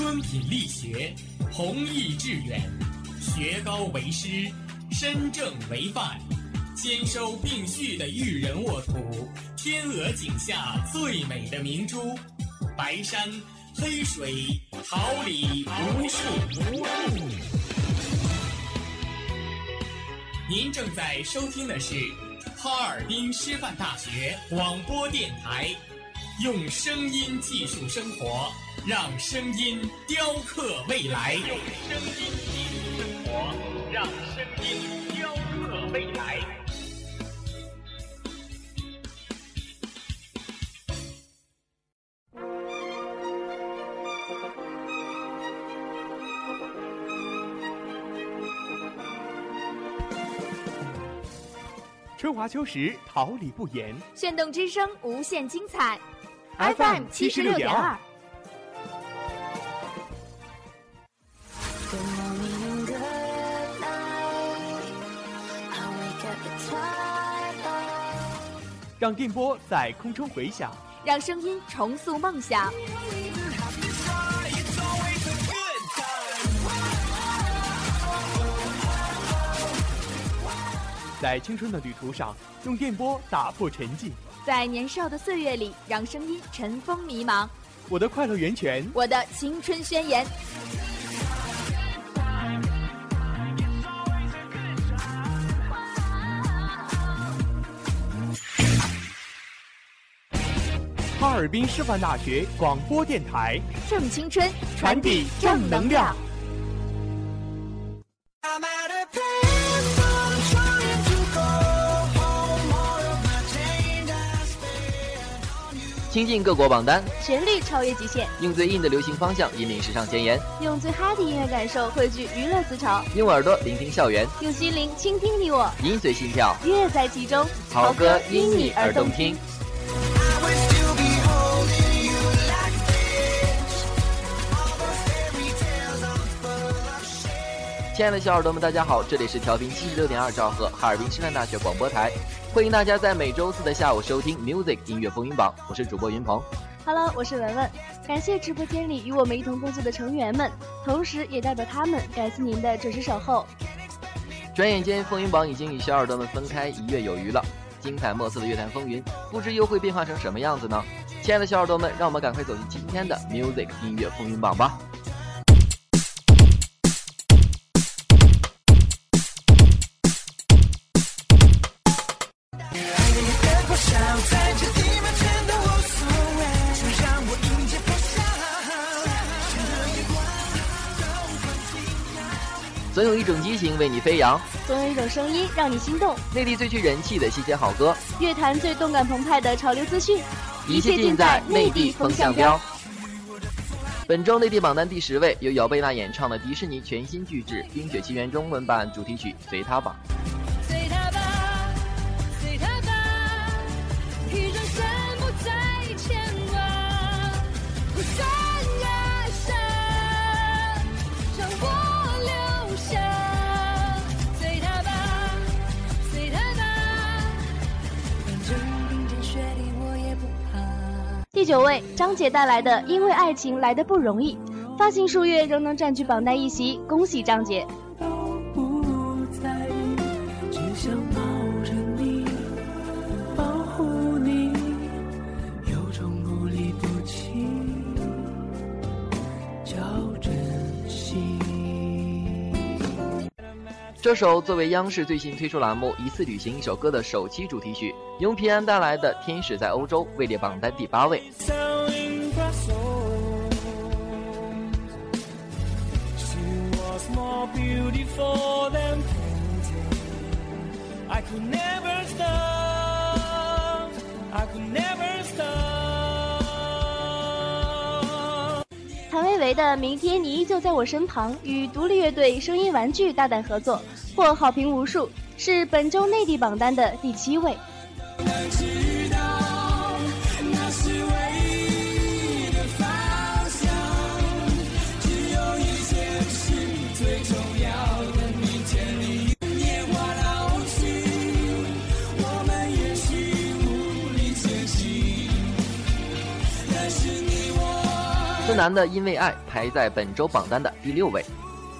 敦品力学，弘毅致远，学高为师，身正为范，兼收并蓄的育人沃土，天鹅颈下最美的明珠，白山黑水，桃李无数。您正在收听的是哈尔滨师范大学广播电台，用声音技术生活，让声音雕刻未来。用声音技术生活，让声音雕刻未来。 春华秋实，桃李不言。 炫动之声，无限精彩。 FM 76.2。让电波在空中回响， 让声音重塑梦想。 在青春的旅途上，用电波打破沉寂； 在年少的岁月里，让声音尘封迷茫。 我的快乐源泉， 我的青春宣言。 哈尔滨师范大学广播电台， 正青春， 传递正能量。 亲近各国榜单， 旋律超越极限， 用最硬的流行方向引领时尚前沿， 用最嗨的音乐感受汇聚娱乐思潮， 用耳朵聆听校园， 用心灵倾听你我， 音随心跳， 乐在其中， 好歌因你而动听。亲爱的小耳朵们，大家好，这里是调频76.2兆赫哈尔滨师范大学广播台，欢迎大家在每周四的下午收听 Music 音乐风云榜，我是主播云鹏。 Hello， 我是文文，感谢直播间里与我们一同工作的成员们，同时也代表他们感谢您的准时守候。 转眼间，风云榜已经与小耳朵们分开1月有余了，精彩莫测的乐坛风云，不知又会变化成什么样子呢？亲爱的小耳朵们，让我们赶快走进今天的 Music 音乐风云榜吧。总有一种激情为你飞扬， 总有一种声音让你心动。 内地最具人气的新鲜好歌， 乐坛最动感澎湃的潮流资讯， 一切尽在内地风向标。本周内地榜单第10位，由姚贝娜演唱的迪士尼全新巨制《冰雪奇缘》中文版主题曲《随它吧》。 随它吧，随它吧，一转身不再牵挂，不算人生，让我留下。随它吧，随它吧，反正冰天雪地我也不怕。 第9位，张杰带来的《因为爱情来得不容易》，发行数月仍能占据榜单一席，恭喜张杰。 这首作为央视最新推出栏目《一次旅行一首歌》的首期主题曲，由平安带来的《天使在欧洲》位列榜单第8位。 谭维维的《明天你依旧在我身旁》与独立乐队声音玩具大胆合作，获好评无数，是本周内地榜单的第7位。 孙楠的《因为爱》排在本周榜单的第6位。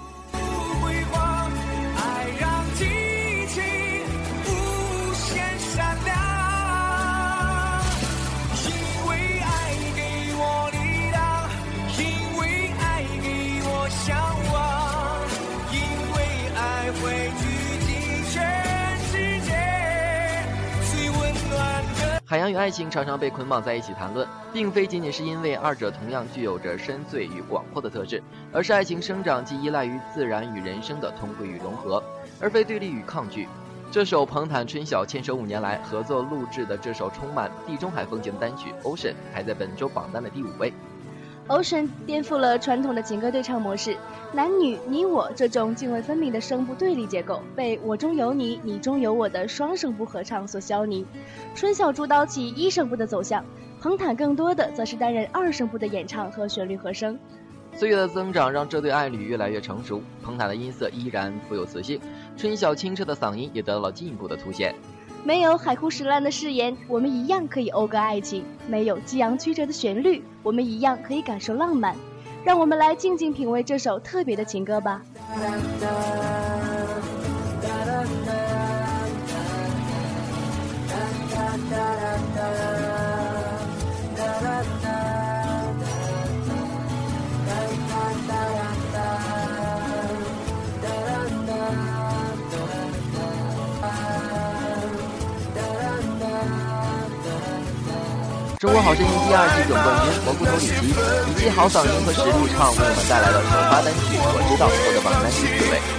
海洋与爱情常常被捆绑在一起谈论，并非仅仅是因为二者同样具有着深邃与广阔的特质，而是爱情生长既依赖于自然与人生的通归与融合，而非对立与抗拒。这首彭坦春晓牵手5年来合作录制的这首充满地中海风情的单曲 Ocean 排在本周榜单的第5位。 Ocean 颠覆了传统的情歌对唱模式，男女你我这种泾渭分明的声部对立结构被我中有你你中有我的双声部合唱所消弭。春晓主导起1声部的走向，彭坦更多的则是担任2声部的演唱和旋律和声。 岁月的增长让这对爱侣越来越成熟，彭坦的音色依然富有磁性，春晓清澈的嗓音也得到了进一步的凸显。 没有海枯石烂的誓言，我们一样可以讴歌爱情；没有激昂曲折的旋律，我们一样可以感受浪漫。让我们来静静品味这首特别的情歌吧。 中国好声音第2季总冠军蘑菇头李琦以其好嗓音和实力唱为我们带来了首发单曲《我知道》，获得榜单第4位。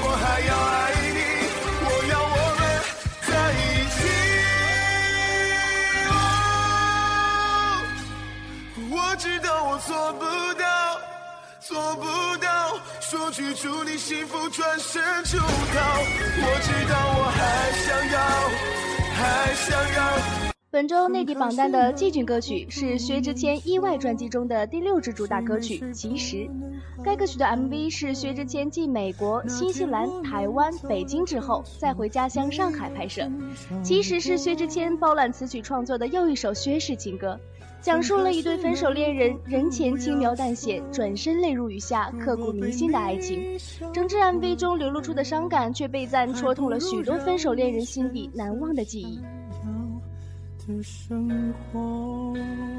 我知道我做不到，做不到，说句祝你幸福转身就逃。我知道我还想要，还想要。 本周内地榜单的季军歌曲是薛之谦意外专辑中的第6支主打歌曲《其实》。该歌曲的 MV 是薛之谦继美国、新西兰、台湾、北京之后再回家乡上海拍摄。其实是薛之谦包揽词曲创作的又一首薛氏情歌，讲述了一对分手恋人人前轻描淡写，转身泪如雨下，刻骨铭心的爱情。整支 MV 中流露出的伤感却被赞戳痛了许多分手恋人心底难忘的记忆。 的生活，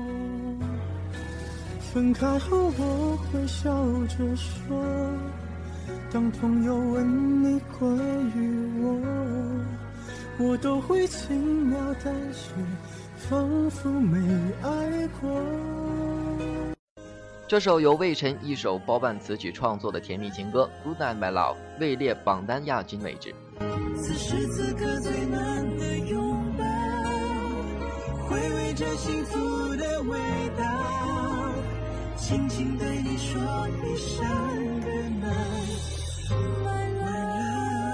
分开后我会笑着说，当朋友问你关于我都会轻描淡写，仿佛没爱过。 这首由魏晨一手包办词曲创作的甜蜜情歌《Good Night My Love》位列榜单亚军位置。 此时此刻最难的拥抱，回味着幸福的味道，轻轻对你说一声 Good night my love。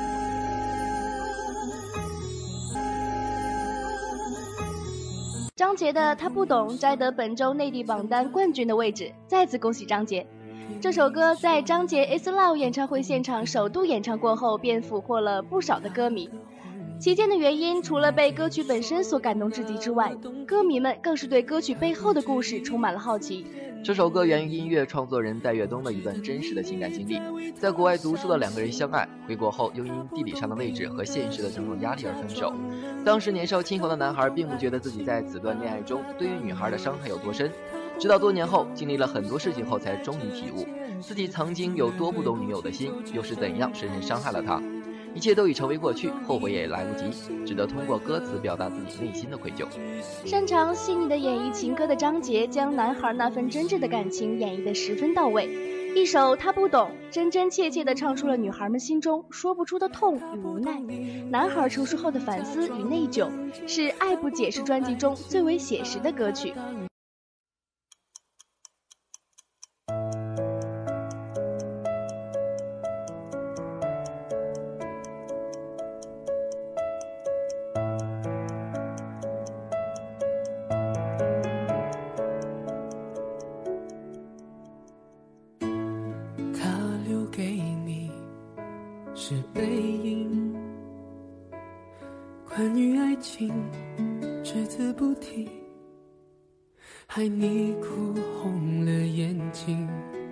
张杰的《他不懂》摘得本周内地榜单冠军的位置，再次恭喜张杰。这首歌在张杰 Is Love 演唱会现场首度演唱过后，便俘获了不少的歌迷。其间的原因，除了被歌曲本身所感动至极之外，歌迷们更是对歌曲背后的故事充满了好奇。 这首歌源于音乐创作人戴岳东的一段真实的情感经历，在国外读书的2个人相爱，回国后又因地理上的位置和现实的种种压力而分手。当时年少轻狂的男孩并不觉得自己在此段恋爱中对于女孩的伤害有多深，直到多年后经历了很多事情后，才终于体悟自己曾经有多不懂女友的心，又是怎样深深伤害了她。一切都已成为过去，后悔也来不及，只得通过歌词表达自己内心的愧疚。 擅长细腻的演绎情歌的张杰，将男孩那份真挚的感情演绎得十分到位。一首《他不懂》，真真切切地唱出了女孩们心中说不出的痛与无奈，男孩成熟后的反思与内疚，是《爱不解释》专辑中最为写实的歌曲。 是背影，关于爱情只字不提，害你哭红了眼睛，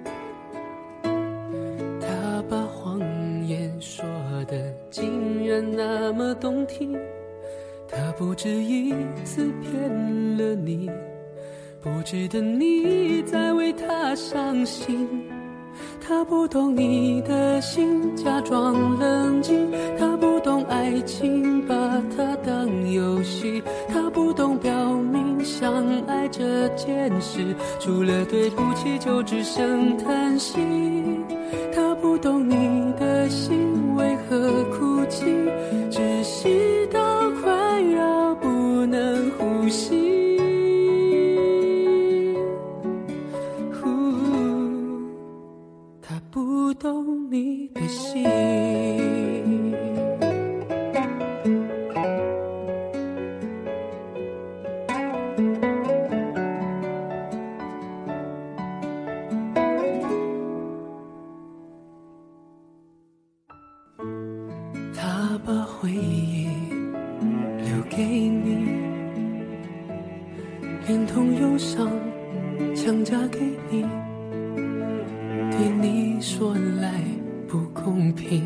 他把谎言说的竟然那么动听，他不止一次骗了你，不值得你再为他伤心。他不懂你的心，假装冷静，他不懂爱情，把它当游戏，他不懂表明相爱这件事，除了对不起就只剩叹息。他不懂你的心为何哭泣，窒息到快要不能呼吸。不懂你的心，他把回忆留给你，连同忧伤强加给你，对你说来不公平，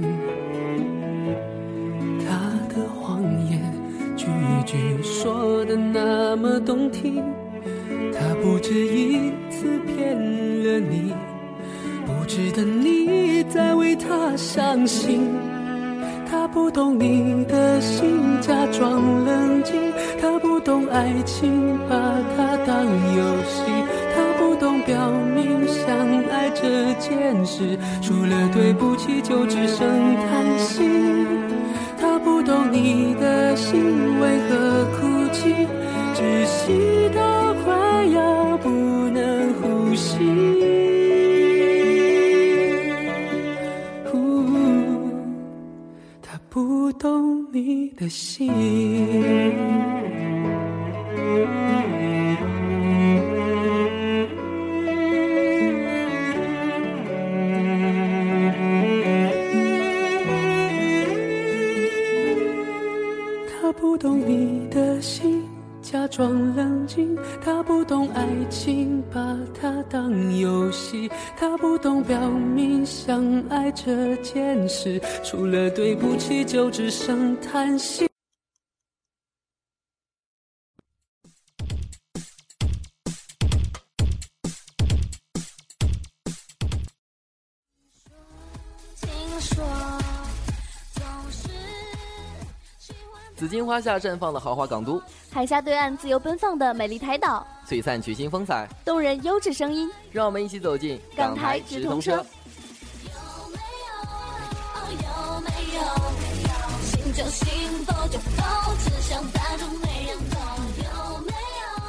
他的谎言句句说的那么动听，他不止一次骗了你，不值得你再为他伤心。他不懂你的心，假装冷静，他不懂爱情，把它当游戏，他不懂表明相爱这件事，除了对不起就只剩叹息。他不懂你的心为何哭泣，窒息到快要不能呼吸。他不懂你的心，他不懂你的心，假装冷静，他不懂爱情，把它当游戏，他不懂表明相爱这件事，除了对不起就只剩叹息。 紫荆花下绽放的豪华港都， 海峡对岸自由奔放的美丽台岛， 璀璨曲新风采， 动人优质声音， 让我们一起走进港台直通车。 心就心，否就否，只想单纯没人懂，有没有？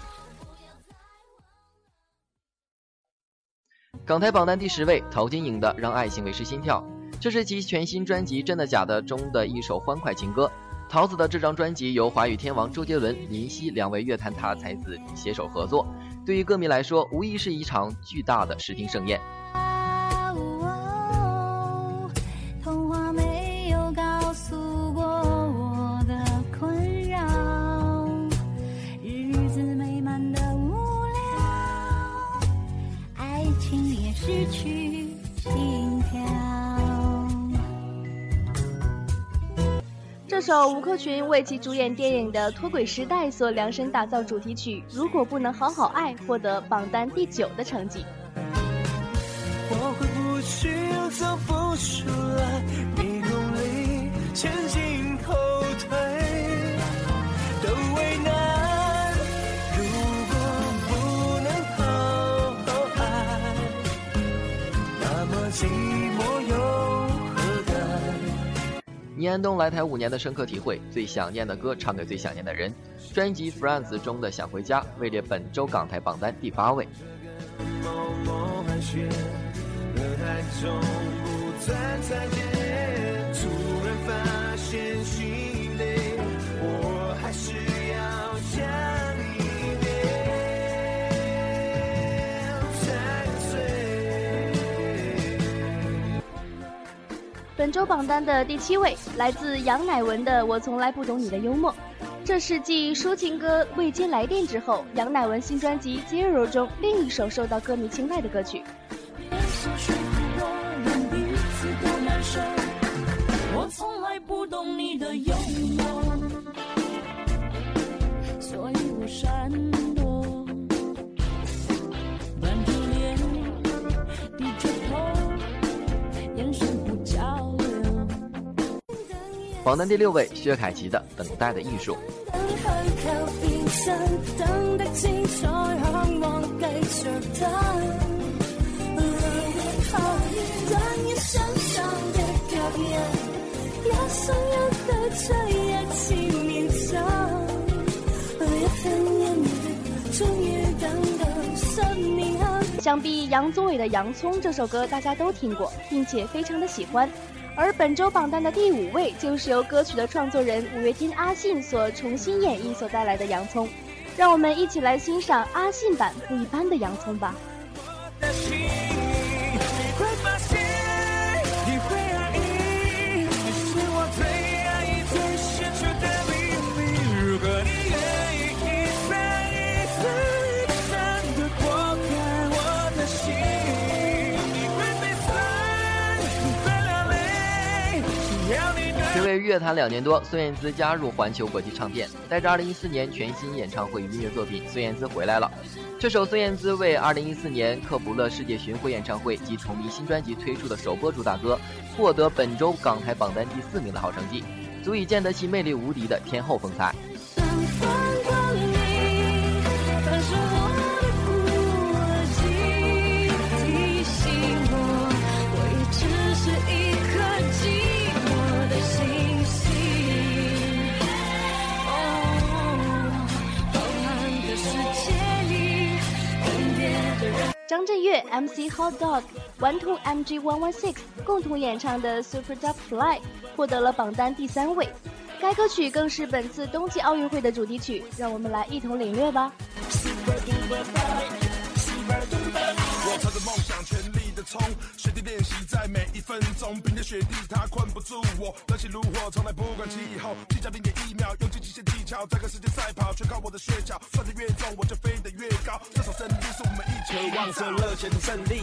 港台榜单第10位，陶晶莹的《让爱情维持心跳》，这是其全新专辑《真的假的》中的一首欢快情歌。桃子的这张专辑由华语天王周杰伦、林夕2位乐坛大才子携手合作，对于歌迷来说，无疑是一场巨大的视听盛宴。 童话没有告诉过我的困扰，日子美满的无聊，爱情也失去心跳。 这首吴克群为其主演电影的《脱轨时代》所量身打造主题曲《如果不能好好爱》获得榜单第9的成绩。 我回不去又走不出来，迷宫里前进后退都为难，如果不能好好爱，那么寂寞又何干。 倪安东来台5年的深刻体会，最想念的歌唱给最想念的人。专辑《France》中的《想回家》位列本周港台榜单第8位。 中不再再见，突然发现心累，我还是要想一遍才对。 本周榜单的第7位，来自杨乃文的《我从来不懂你的幽默》。 这是继抒情歌《未接来电》之后，杨乃文新专辑《Zero》中另一首受到歌迷青睐的歌曲。 我从来不懂你的幽默，所以我闪躲，板着脸，低着头，眼神不交流。 榜单第6位，薛凯琪的《等待的艺术》。 等得清楚，向往繼續等，但也想象的表演，也想要的卻一次勉強，也很遠的，終於等到10年後。 想必杨宗纬的《洋葱》这首歌大家都听过，并且非常的喜欢。而本周榜单的第5位就是由歌曲的创作人五月天阿信所重新演绎所带来的《洋葱》，让我们一起来欣赏阿信版不一般的《洋葱》吧。 暌违乐坛2年多，孙燕姿加入环球国际唱片，带着2014年全新演唱会与音乐作品《孙燕姿回来了》。这首孙燕姿为2014年克卜勒世界巡回演唱会及同名新专辑推出的首播主打歌，获得本周港台榜单第4名的好成绩，足以见得其魅力无敌的天后风采。 张震岳、MC Hot Dog、顽童 MG116 共同演唱的 Super Duck Fly 获得了榜单第3位。该歌曲更是本次冬季奥运会的主题曲，让我们来一同领略吧。 我朝着梦想全力的冲，雪地练习在每一分钟，冰天雪地它困不住我，热情如火，从来不管气候，计较0.1秒，用尽极限技巧，这个世界赛跑，全靠我的血脚，算得越重我就飞得越高，这场胜利是我们一起渴望着热血的胜利。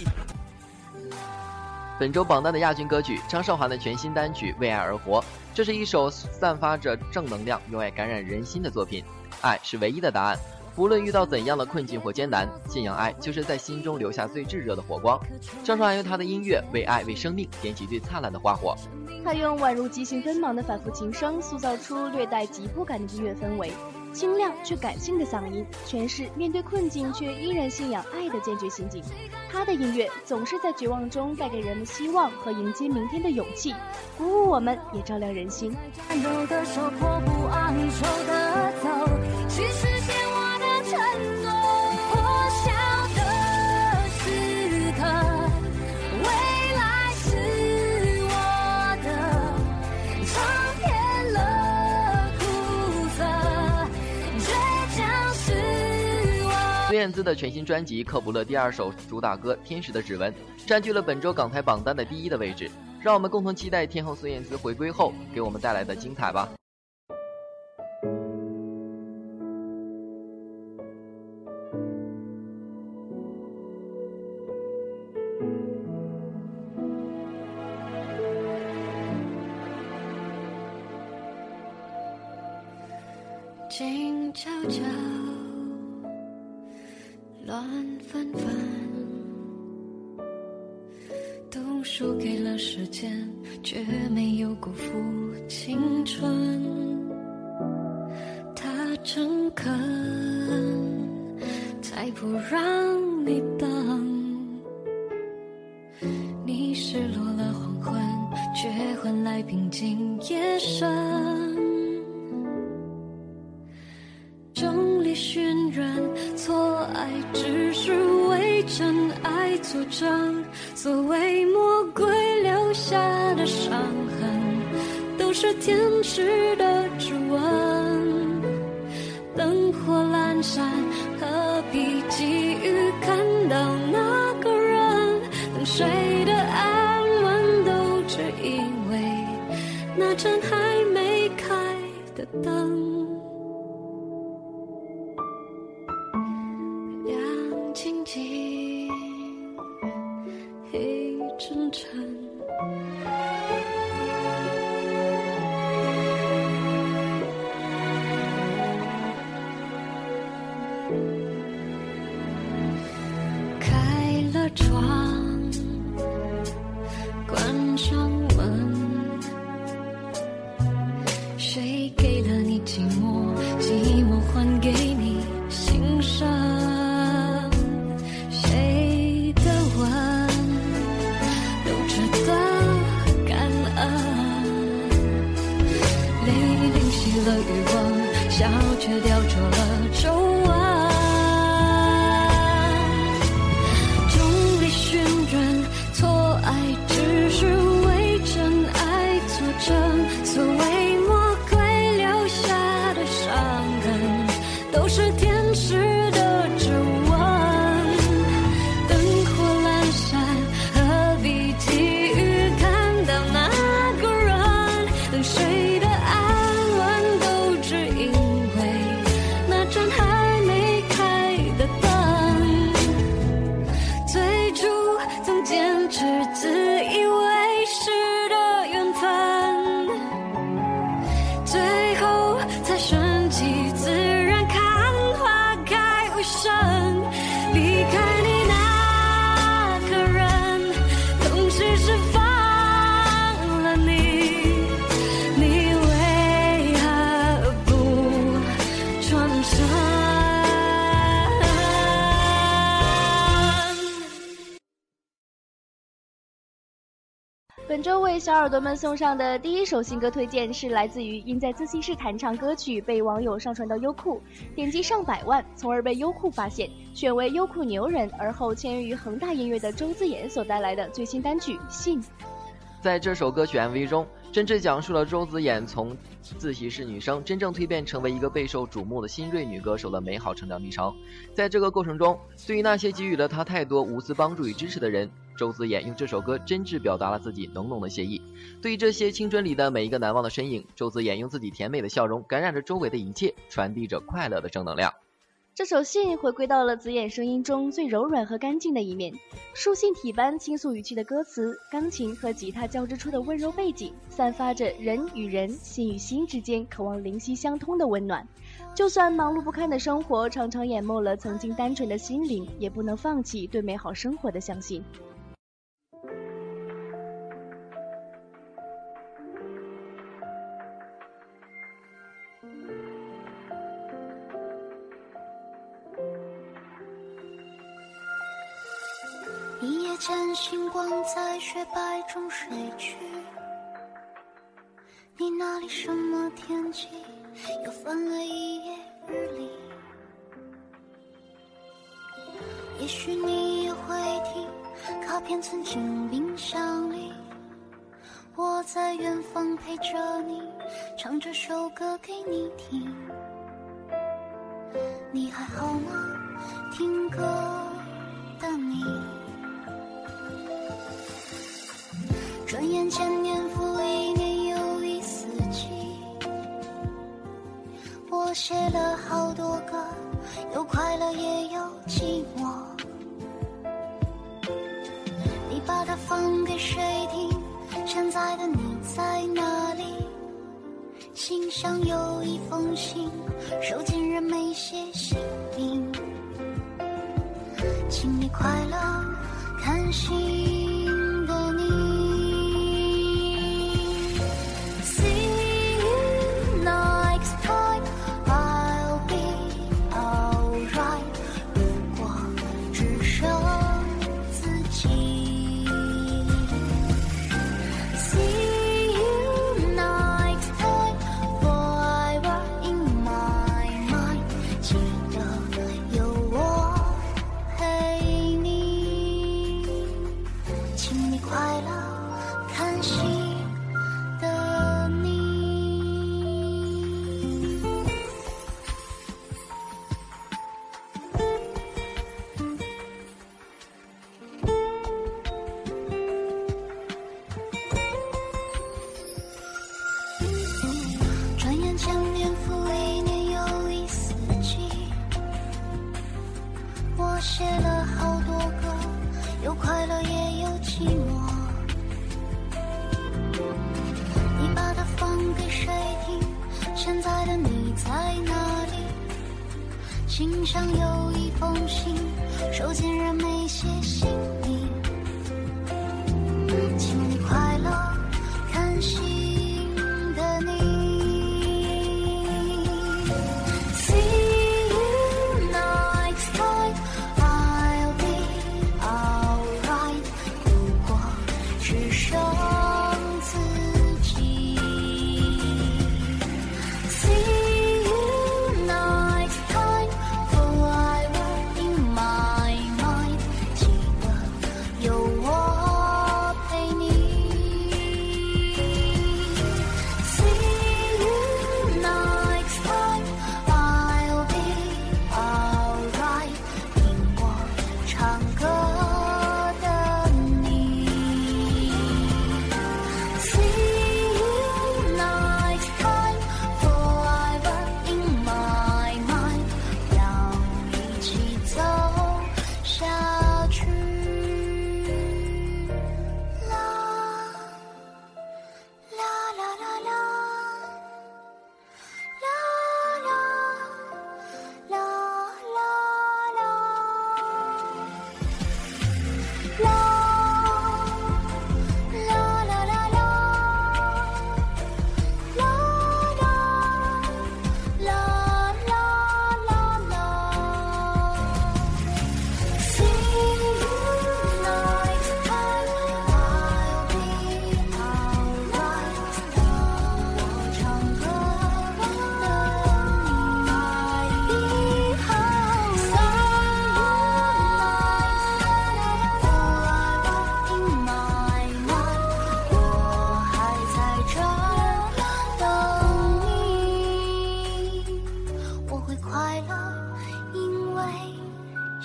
本周榜单的亚军歌曲，张韶涵的全新单曲《为爱而活》，这是一首散发着正能量、用爱感染人心的作品。爱是唯一的答案，无论遇到怎样的困境或艰难，信仰爱就是在心中留下最炙热的火光。张韶涵用她的音乐为爱、为生命点起最灿烂的花火。 她用宛如急行奔忙的反复琴声，塑造出略带急迫感的音乐氛围。清亮却感性的嗓音，诠释面对困境却依然信仰爱的坚决心境。他的音乐总是在绝望中带给人们希望和迎接明天的勇气，鼓舞我们，也照亮人心。 有的手迫不昂首的走，去实现我的承诺。破晓的时刻，未来是我的，尝遍了苦涩，倔强是我。 孙燕姿的全新专辑《克卜勒》第2首主打歌《天使的指纹》占据了本周港台榜单的第1的位置，让我们共同期待天后孙燕姿回归后给我们带来的精彩吧。 静悄悄，乱纷纷，都输给了时间，却没有辜负青春。他诚恳，才不让你等。你失落了黄昏，却换来平静夜深。众里寻人，错爱只是为真爱作证。所谓魔鬼留下的伤痕，都是天使的指纹。灯火阑珊，何必急于看到那个人？等谁的安稳，都只因为那盏还没开的灯。 窗，关上门。谁给了你寂寞，寂寞还给你欣赏？谁的吻都值得感恩？泪淋熄了欲望，笑却雕琢了皱纹。众里寻人，错爱只是为真爱作证。所谓魔鬼留下的伤痕，都是天使的指纹。灯火阑珊，何必急于看到那个人？等谁的安稳，都只因为那盏还没开的灯。最初曾坚持，自以为是的缘分，最后才顺其自然，看花开无声。离开你那个人，同时释放了你，你为何不转身？ 本周为小耳朵们送上的第一首新歌推荐是来自于因在自习室弹唱歌曲被网友上传到优酷，点击上百万，从而被优酷发现，选为优酷牛人，而后签约于恒大音乐的周子妍所带来的最新单曲《信》。 在这首歌曲 MV 中，真挚讲述了周子妍从自习室女生真正蜕变成为一个备受瞩目的新锐女歌手的美好成长历程。在这个过程中，对于那些给予了她太多无私帮助与支持的人，周子妍用这首歌真挚表达了自己浓浓的谢意。对于这些青春里的每一个难忘的身影，周子妍用自己甜美的笑容感染着周围的一切，传递着快乐的正能量。 这首信回归到了子妍声音中最柔软和干净的一面，书信体般倾诉语气的歌词，钢琴和吉他交织出的温柔背景，散发着人与人、心与心之间渴望灵犀相通的温暖。就算忙碌不堪的生活常常淹没了曾经单纯的心灵，也不能放弃对美好生活的相信。 一夜间星光在雪白中睡去，你那里什么天气又翻了一页日历？也许你也会听，卡片曾经冰箱里，我在远方陪着你，唱这首歌给你听。你还好吗？听歌的你。转眼间年复一年又一四季，我写了好多歌，有快乐也有寂寞。你把它放给谁听？现在的你在哪里？信上有一封信，收件人没写姓名。请你快乐看信的你。我写了好多歌，有快乐也有寂寞。你把它放给谁听？现在的你在哪里？信上有一封信，收件人没写姓名。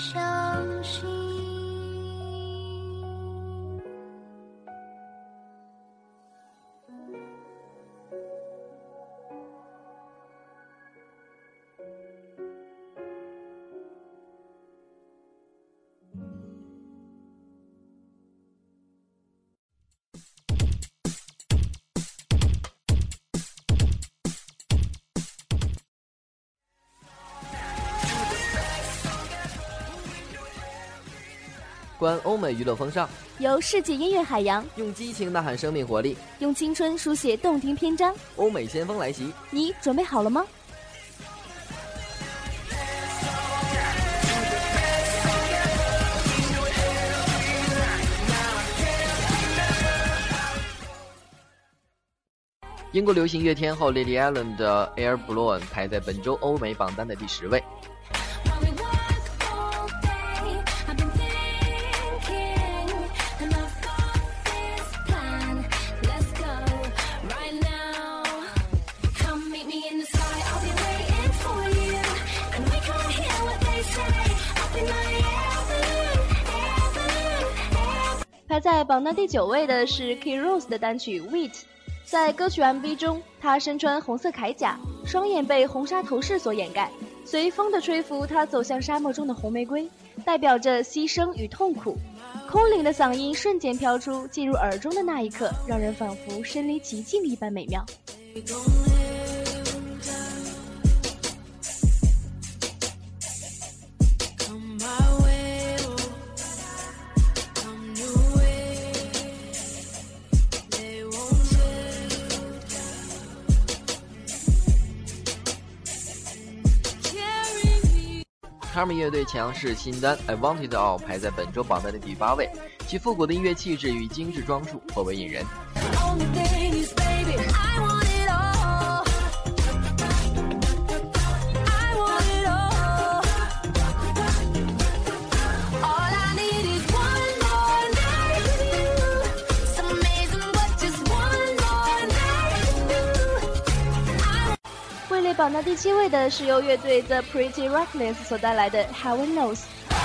相信。 观欧美娱乐风尚， 游世纪音乐海洋， 用激情呐喊生命活力， 用青春书写动听篇章。 欧美先锋来袭， 你准备好了吗？ 英国流行乐天后 Lily Allen 的 Air Balloon 排在本周欧美榜单的第10位。 排在榜单第9位的是 Key Rose 的单曲 Wheat。 在歌曲 MV 中，他身穿红色铠甲，双眼被红纱头饰所掩盖，随风的吹拂，他走向沙漠中的红玫瑰，代表着牺牲与痛苦。空灵的嗓音瞬间飘出，进入耳中的那一刻，让人仿佛身临其境一般美妙。 Carmen 乐队强势新单 I Want It All 排在本周榜单的第8位，其复古的音乐气质与精致装束颇为引人。 位列榜单第7位的是由乐队 The Pretty Reckless 所带来的 Heaven Knows。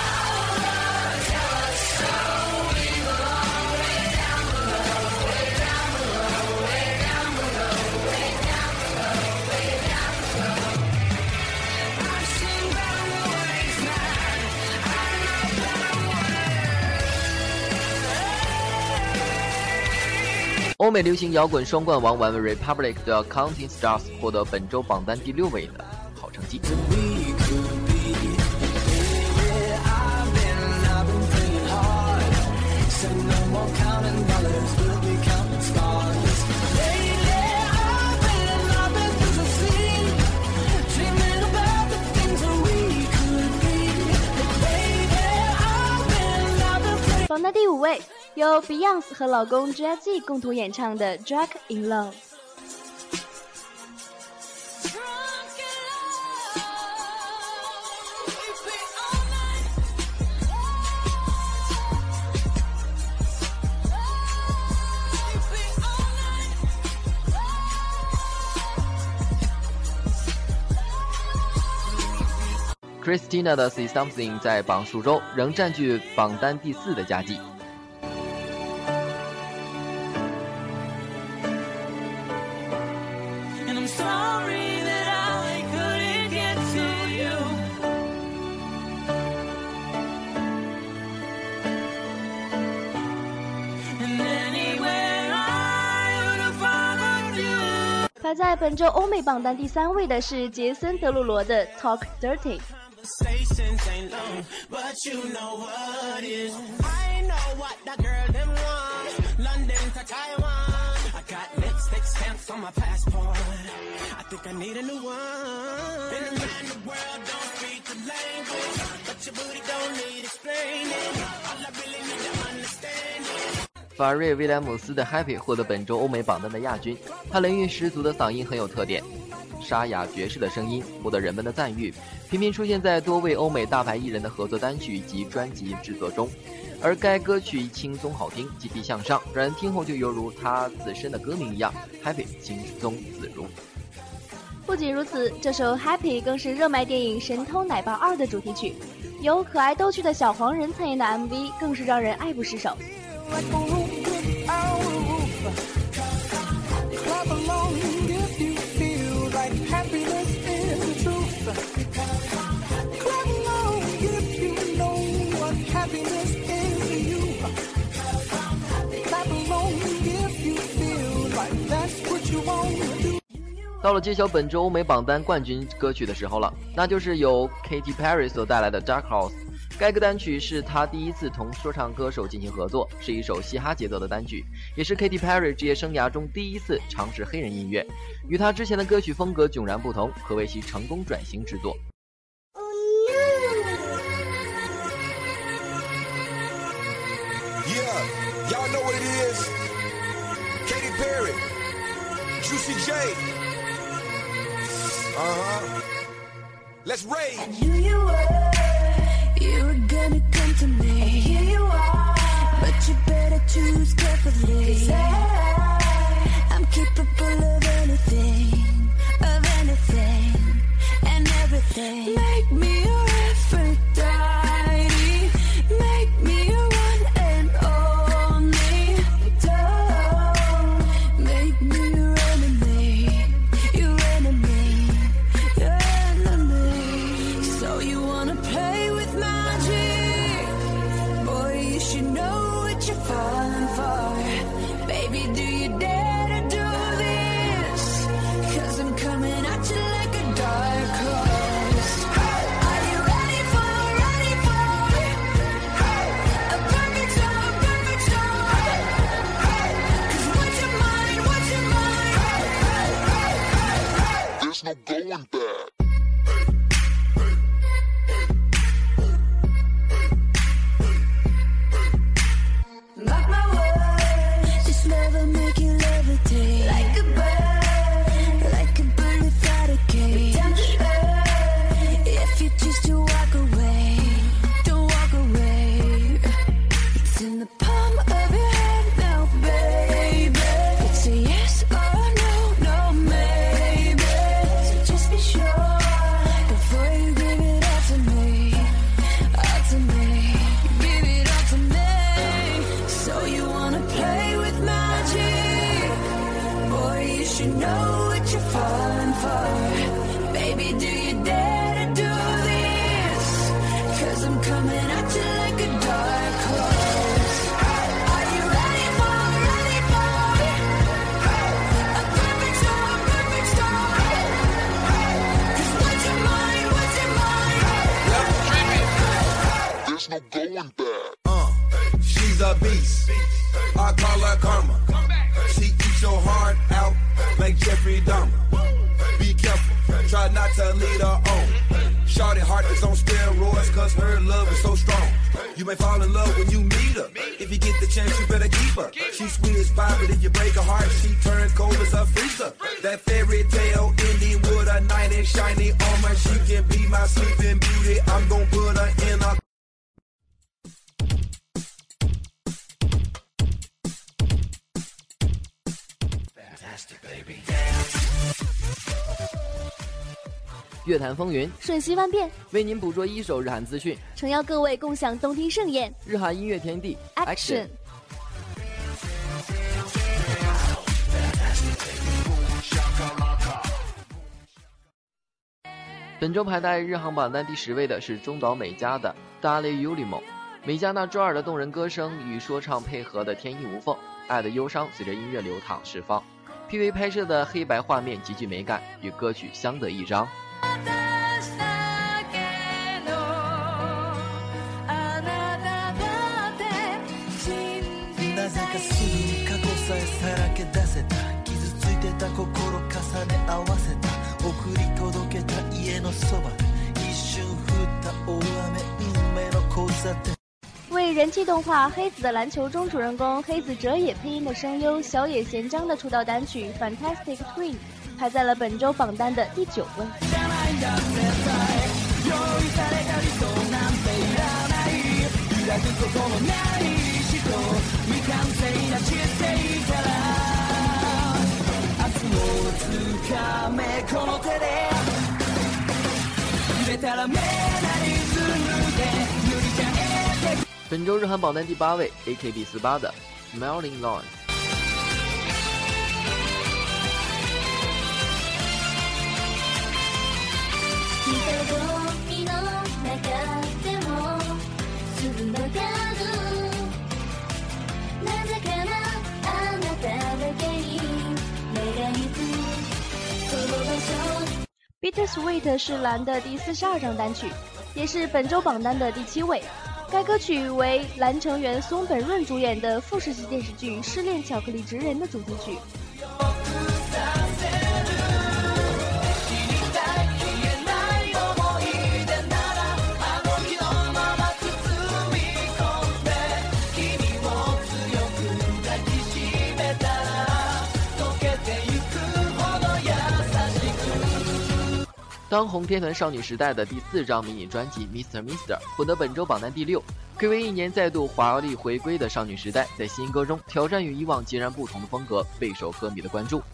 欧美流行摇滚双冠王 One Republic 的 Counting Stars 获得本周榜单第6位的好成绩。 榜单第5位，由 Beyonce 和老公 Jay-Z 共同演唱的 Drunk in Love。 Christina 的 See Something 在榜数周仍占据榜单第4的佳绩。 排在本周欧美榜单第3位的是杰森·德鲁罗的 Talk Dirty。 Ain't long, but you know what is. I know what the girl them want. London to Taiwan. I got lipstick stamps on my passport. I think I need a new one. Been around the world, don't speak the language, but your booty don't need explaining. All I really need to understand is. 法瑞·威廉姆斯的 Happy 获得本周欧美榜单的亚军，他雷韵十足的嗓音很有特点，沙哑爵士的声音获得人们的赞誉，频频出现在多位欧美大牌艺人的合作单曲及专辑制作中。而该歌曲轻松好听，积极向上，让人听后就犹如他自身的歌名一样 ，Happy 轻松自如。 不仅如此，这首 Happy 更是热卖电影《神偷奶爸2》的主题曲。 由可爱逗趣的小黄人参演的 MV 更是让人爱不释手。 到了揭晓本周欧美榜单冠军歌曲的时候了，那就是由 Katy Perry 所带来的 Dark Horse。 该个单曲是她第一次同说唱歌手进行合作，是一首嘻哈节奏的单曲，也是 Katy Perry 职业生涯中第一次尝试黑人音乐，与她之前的歌曲风格迥然不同，可谓其成功转型之作。 Yeah, y'all know what it is. Katy Perry, Juicy J. Let's rage. I knew you were gonna come to me. And here you are, but you better choose carefully. 'Cause I'm capable of anything, and everything. Make me your Aphrodite, make me your one and only. Don't make me your enemy, your enemy, your enemy. So you wanna play with magic? Boy, you should know what you're falling for. Baby, do you dare to do this? 'Cause I'm coming at you like a dark horse. Are you ready for a perfect storm, perfect storm? 'Cause what's your mind, what's your mind? There's no going back. Mark my words, this love will make you levitate like a bird without a cage. Down to earth, if you choose to walk away, don't walk away. It's in the palm of your hand now, baby. It's a yes or no, no maybe. So just be sure before you give it all to me, all to me. Give it all to me. So you wanna play with magic? Boy, you should know what you're falling for. Baby, do you dare to do this? 'Cause I'm coming at you like a dark horse. Are you ready for a perfect storm, perfect storm? 'Cause what's your mind, what's your mind? There's no going back. She's a beast. I call her karma. She eats your heart out like Jeffrey Dahmer. Be careful, try not to lead her on. Shorty heart is on steroids, 'cause her love is so strong. You may fall in love when you meet her. If you get the chance, you better keep her. She's sweet as pie, but if you break her heart, she turns cold as a freezer. That fairy tale ending with a knight in shiny armor. She can be my sleeping beauty. I'm gonna put her in a 乐坛风云， 瞬息万变， 为您捕捉一手日韩资讯， 诚邀各位共享动听盛宴。 日韩音乐天地 Action。 本周排在日航榜单第10位的是中岛美嘉的《Dale Ulimo》。美嘉那抓耳的动人歌声与说唱配合的天衣无缝，爱的忧伤随着音乐流淌释放。PV 拍摄的黑白画面极具美感，与歌曲相得益彰。 なぜかすぐに過去さえさらけ出せた傷ついてた心重ね合わせた送り届けた家のそば一瞬降った大雨運命の交差点。 为人气动画《黑子的篮球》中主人公黑子哲也配音的声优小野贤章的出道单曲《Fantastic Twin》排在了本周榜单的第9位。 揺れたら目なりずむで本周日韩榜单第8位 AKB48 的 Smiling Lawns。 Bittersweet 是蓝的第42张单曲，也是本周榜单的第7位。该歌曲为蓝成员松本润主演的富士系电视剧《失恋巧克力职人》的主题曲。 当红天团少女时代的第4张迷你专辑 Mr. Mister 获得本周榜单第6，暌违1年再度华丽回归的少女时代，在新歌中挑战与以往截然不同的风格，备受歌迷的关注。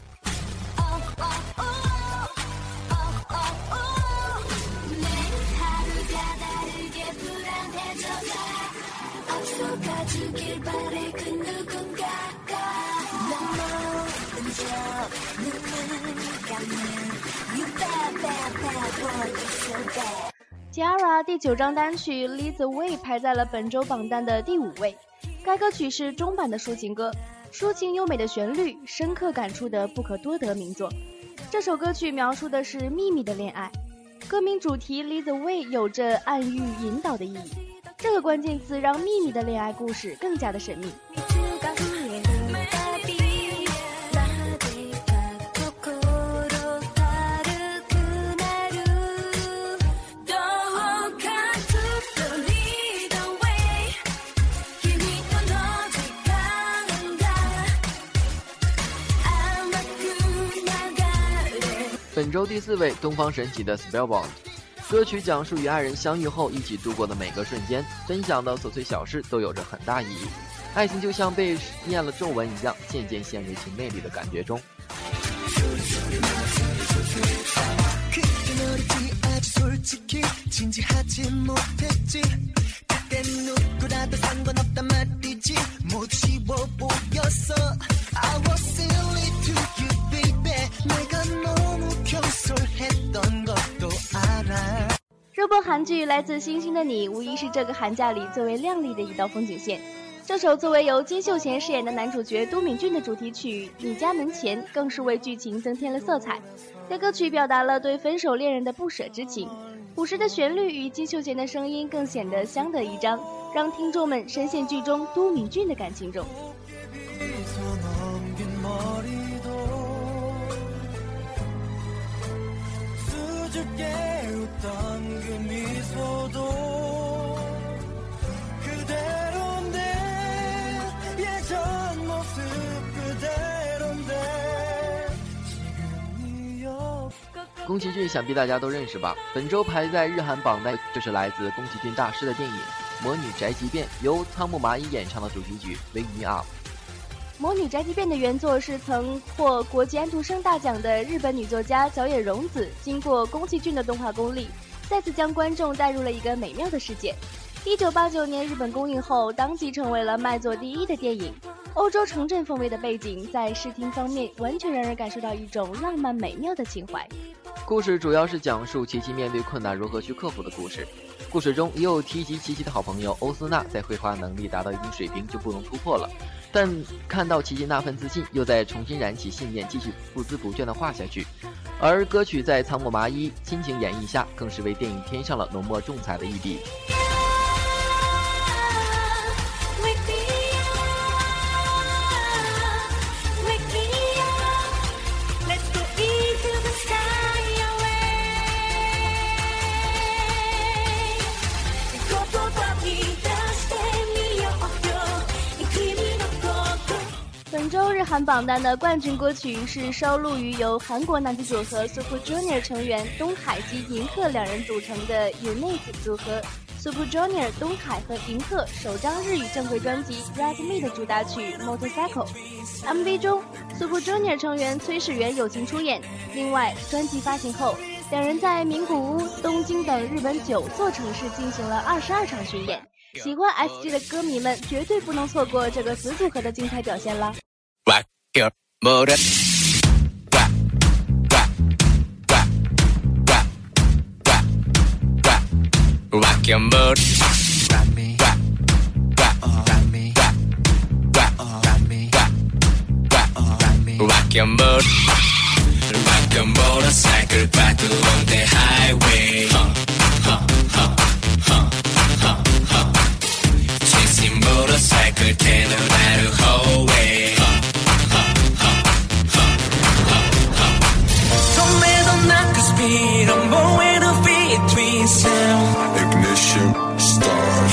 Tiara 第9张单曲 Lead the Way 排在了本周榜单的第5位。该歌曲是中版的抒情歌，抒情优美的旋律，深刻感触的不可多得名作。这首歌曲描述的是秘密的恋爱，歌名主题 Lead the Way 有着暗喻引导的意义。这个关键词让秘密的恋爱故事更加的神秘。 本周第4位，东方神起的 Spellbound。歌曲讲述与爱人相遇后一起度过的每个瞬间，分享的琐碎小事都有着很大意義。愛情就像被念了咒文一樣，漸漸陷入其魅力的感覺中。 热播韩剧《来自星星的你》无疑是这个寒假里最为亮丽的一道风景线。这首作为由金秀贤饰演的男主角都敏俊的主题曲《你家门前》更是为剧情增添了色彩。该歌曲表达了对分手恋人的不舍之情，朴实的旋律与金秀贤的声音更显得相得益彰，让听众们深陷剧中都敏俊的感情中。 宫崎骏想必大家都认识吧，本周排在日韩榜单就是来自宫崎骏大师的电影《魔女宅急便》，由仓木麻衣演唱的主题曲《Wake Me Up》。 魔女宅急便的原作是曾获国际安徒生大奖的日本女作家角野荣子，经过宫崎骏的动画功力，再次将观众带入了一个美妙的世界。1989年日本公映后，当即成为了卖座第1的电影。欧洲城镇风味的背景，在视听方面完全让人感受到一种浪漫美妙的情怀。 故事主要是讲述琪琪面对困难如何去克服的故事。故事中也有提及琪琪的好朋友欧丝娜在绘画能力达到一定水平就不能突破了，但看到琪琪那份自信，又再重新燃起信念，继续不孜不倦地画下去。而歌曲在仓木麻衣亲情演绎下，更是为电影添上了浓墨重彩的一笔。 本周日韩榜单的冠军歌曲是收录于由韩国男子组合 Super Junior 成员东海及银赫两人组成的 UNIQ 组合 Super Junior 东海和银赫首张日语正规专辑 Red Me 的主打曲 Motorcycle。MV 中 Super Junior 成员崔始源友情出演。另外，专辑发行后，两人在名古屋、东京等日本9座城市进行了22场巡演。 喜欢 SG 的歌迷们绝对不能错过这个子组合的精彩表现了。 Rock your motor. Rock your boat, rock me, rock me, rock me, rock your boat, rock your motorcycle back on the highway. Chasing motorcycle, tail that whole way. Don't let them knock the speed, I'm going to between sound. Ignition, start.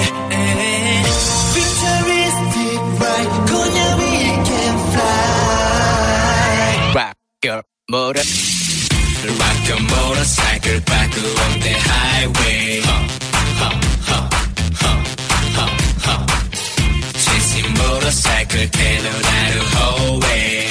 Futuristic ride, Konya we can fly. Rock your motor, rock your motorcycle back on the highway. Chasing motorcycle, tail that whole way.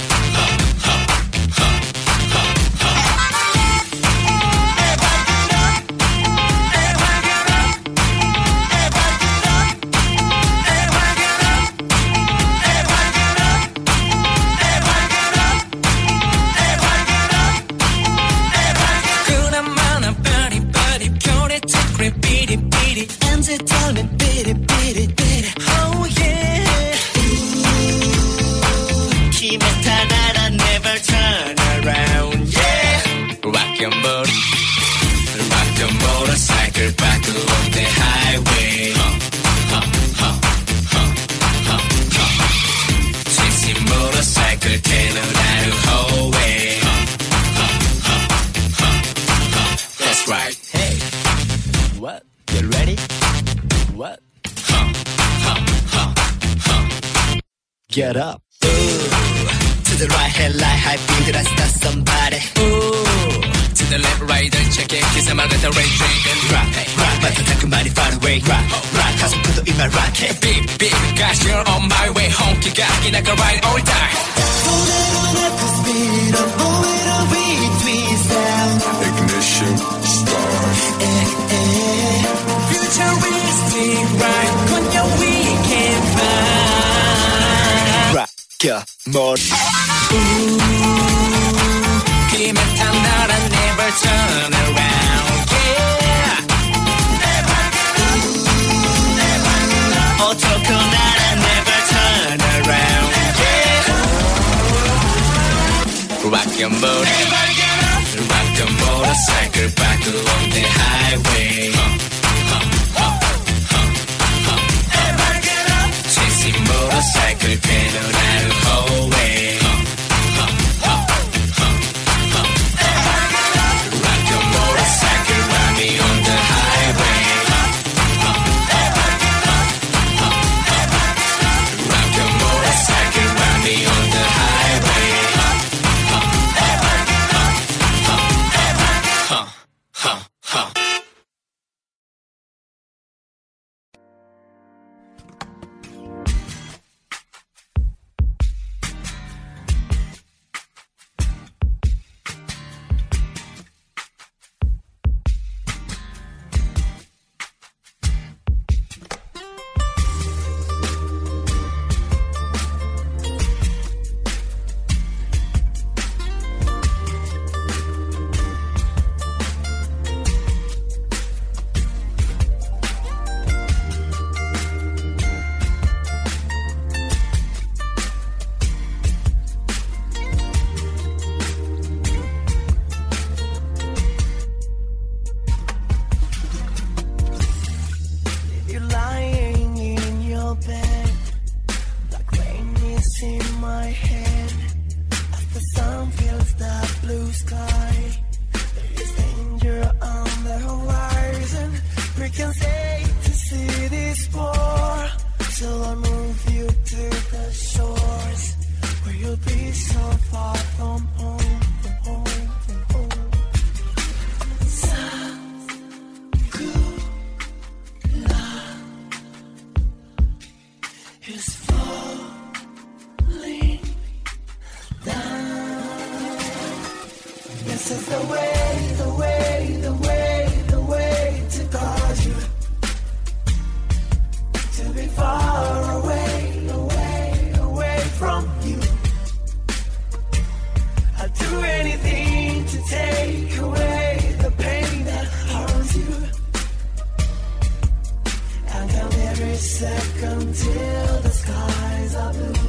And they tell me beat it, beat it, beat it. Oh yeah. Kimeta nara never turn around. Yeah. Rock your boat, rock your motorcycle back on the highway. Chasing motorcycle, tail that whole way. That's right. Hey. What? You ready? What? Get up. Ooh. To the right, headlight, high beam, I start somebody. Ooh. To the left, right, and check it. Kiss I'm out of the red dragon. Rock, hey, rock. But the take money far away. Rock, rock. Cause I'm put in my rocket. Beep, beep. Gosh, you're on my way home. You got in like a ride all time. Don't let the speed. I'm moving on between sound. Ignition, start. Futuristic ride, Konya we can fly. Rock your motor. Kimeta nara never turn around. Yeah. Otoko nara never turn around. Yeah. Rock your motor. Rock your motorcycle back on the highway. Chasing motorcycle, tail that whole way. Rock your motorcycle, ride me on the highway. Rock your motorcycle, ride me on the highway. second till the skies are blue.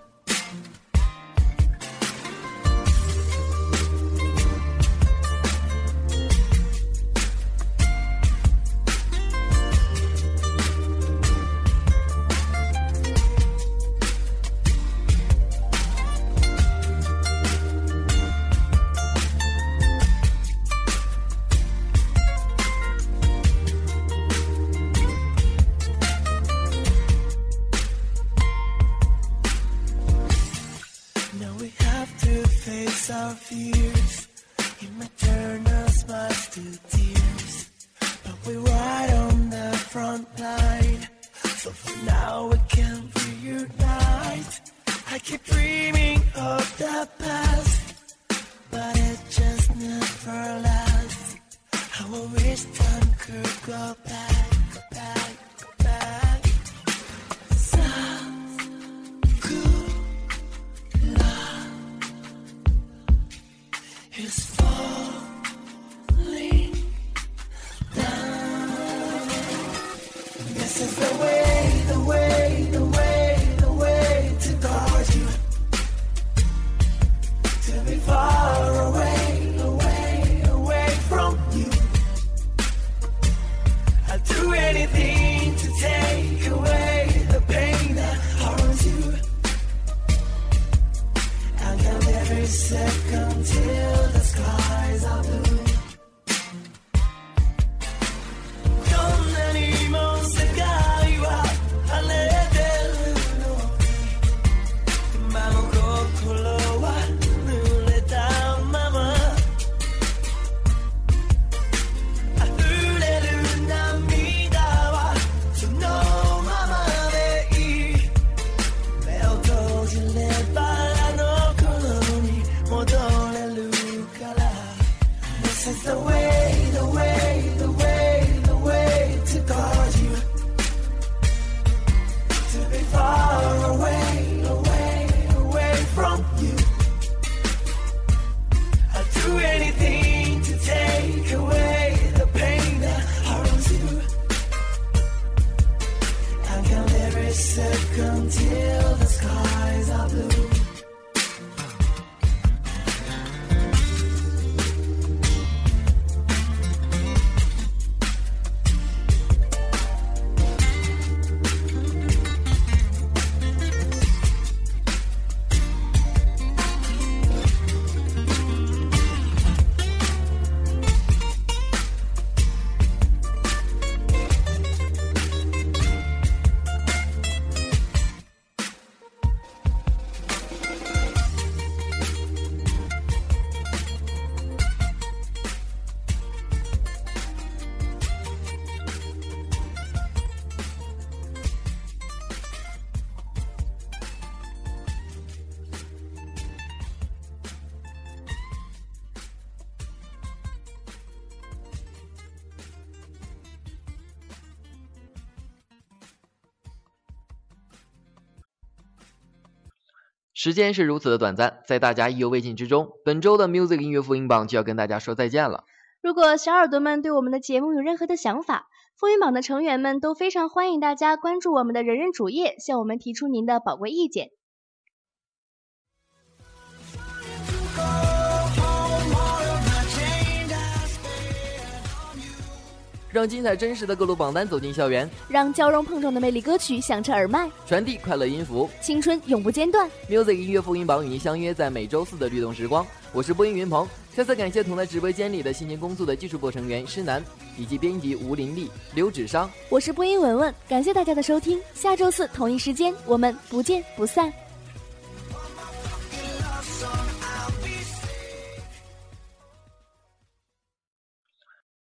Our fears, it might turn our smiles to tears, but we're right on the front line, so for now we can reunite. I keep dreaming of the past, but it just never lasts. How I wish time could go back, go back, go back. Sounds good, love is falling down. This is the way, the way, the way, the way to guard you, to be far away, away, away from you. I'll do anything to take away the pain that harms you. I'll count every second till the skies are blue. こんなにも世界は晴れてるのに、今も心は濡れたまま。溢れる涙はそのままでいい。目を閉じれば戻れるから This is the way, the way, the way, the way to guard you, to be far away, away, away from you. I'll do anything to take away the pain that harms you. I'll count every second till the skies are blue. 时间是如此的短暂，在大家意犹未尽之中，本周的 Music 音乐复音榜就要跟大家说再见了。 如果小耳朵们对我们的节目有任何的想法，复音榜的成员们都非常欢迎大家关注我们的人人主页，向我们提出您的宝贵意见。 让精彩真实的各路榜单走进校园， 让交融碰撞的魅力歌曲响彻耳麦， 传递快乐音符， 青春永不间断。 Music 音乐复音榜与您相约在每周四的律动时光，我是播音云鹏。再次感谢同在直播间里的辛勤工作的技术部成员施南以及编辑吴林丽、刘芷商。 我是播音文文，感谢大家的收听，下周四同一时间我们不见不散。